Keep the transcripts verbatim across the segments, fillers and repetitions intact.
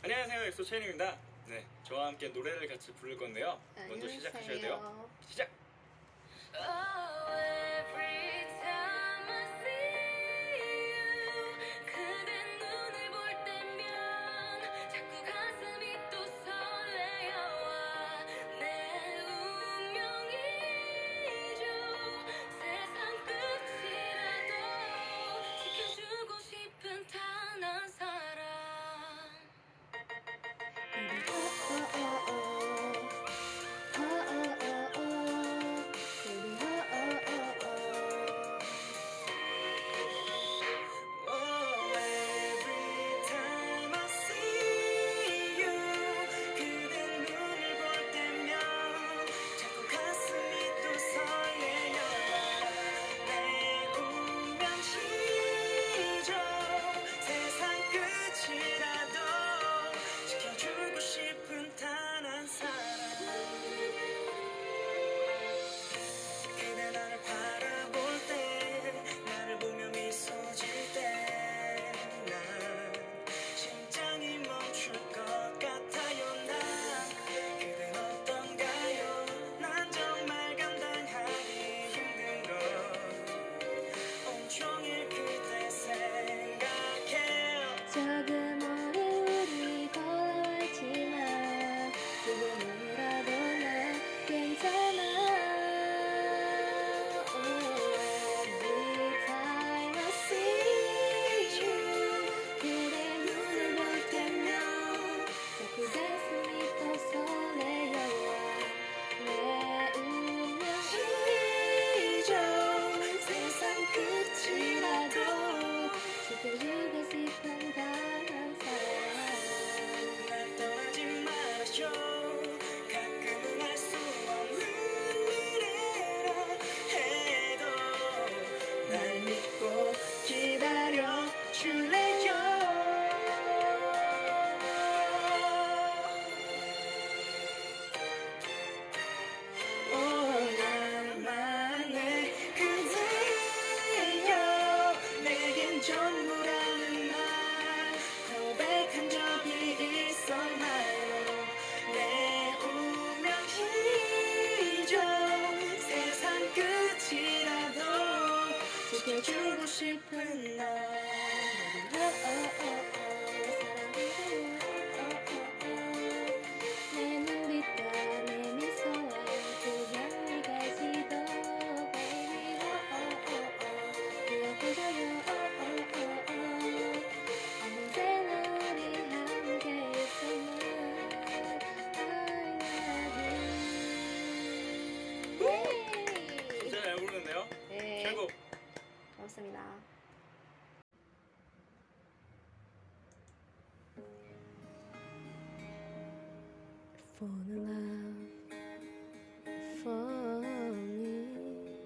안녕하세요, 엑소 채인입니다. 네, 저와 함께 노래를 같이 부를 건데요. 먼저 안녕하세요. 시작하셔야 돼요. 시작! Oh, every time I see you, 그대 눈을 볼 때면 자꾸 가슴이 또 설레어와 내 운명이죠. 세상 끝이라도 지켜주고 싶은 단 한 사람. 조금 오래 우리 걸어왔지만 지금이라도 난 괜찮아. Oh, every time I see you, 그대 눈을 볼 때면 자꾸 가슴이 또 설레어와 내 운명이죠. 세상 끝이라도 지켜주고 싶은 단 한 사람. 날 떠나지 말아줘. 가끔은 알 수 없는 미래라 해도 날 믿고 기다려 줄래요. 오, 나만의 그대여. 내겐 전부라는 말 고백한 적이 있었나요? 내 운명이죠. 세상 끝이라도 지켜주고 싶은 너. 내 눈빛과 내 미소와 그냥 네가 지도 baby 기억해줘요. 언제나 우리 함께 있었나. I love you. 진짜 잘 부르는데요? 네, 최고! 고맙습니다. Fall in love for me,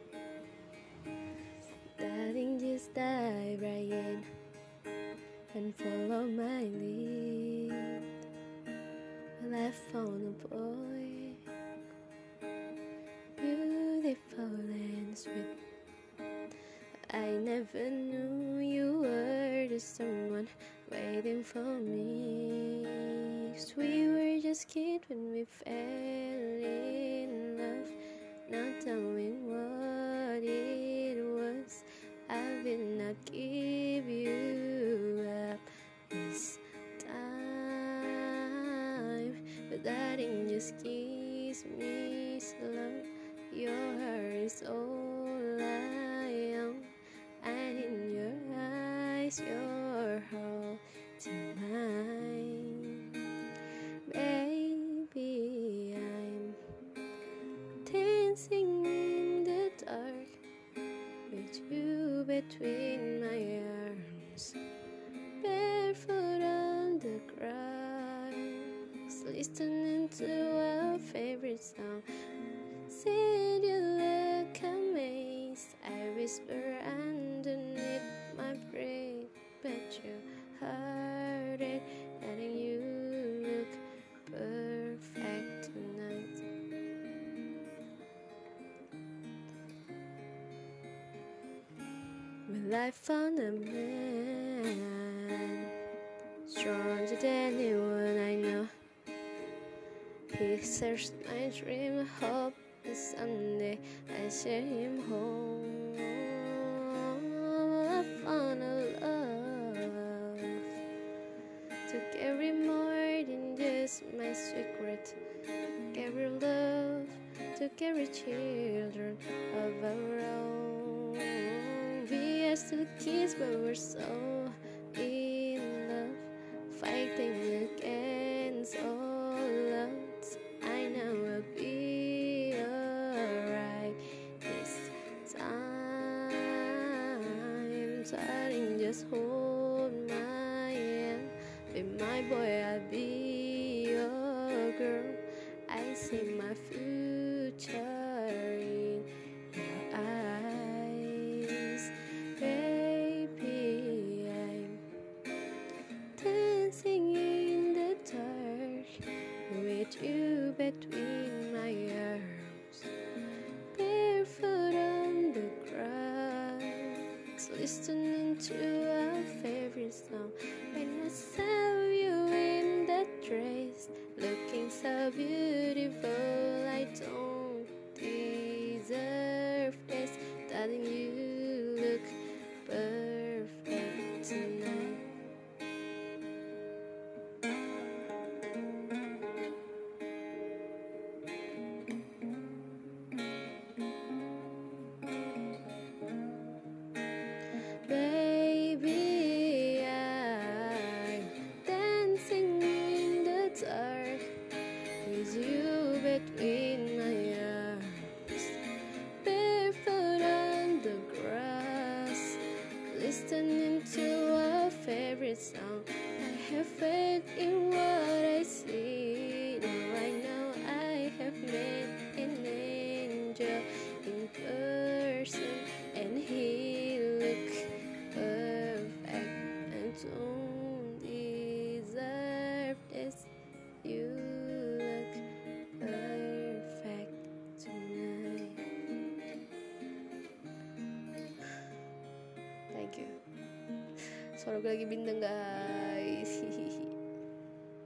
darling, just dive right in and follow my lead. Well, I found a boy, beautiful and sweet. I never knew you were the someone waiting for me. 'Cause we were just kids when we fell in love, not knowing what it was. I will not give you up this time, but darling, just kiss me slow. Your heart is all I own, and in your eyes, you're holding mine. Baby, I'm dancing in the dark with you between my arms, barefoot on the grass, listening to our favorite song. Said you look amazed, I whisper underneath my breath, but you heard it, and you look perfect tonight. Well, I found a man strong stronger than anyone I know. He serves my dream, hope that someday I share him home. I found a love to carry more than just my secret. Carry love to carry children of our own. We are still kids, but we're so in love, fighting against all odds. I know we'll be alright this time. Darling, just hold my hand. Be my boy, I'll be your girl. I see my future in your eyes. Baby, I'm dancing in the dark with you between my arms, barefoot on the grass, listening to our favorite song. When I saw you in that dress, looking so beautiful, I don't deserve this. Darling, you look perfect tonight. Baby, I'm dancing in the dark with you between my arms, barefoot on the grass, listening to our favorite song. I have faith in what I see. Now I know I have met an angel in person, and he looks perfect. I don't deserve this. You look perfect tonight. Thank you. Suara gue lagi bintang guys.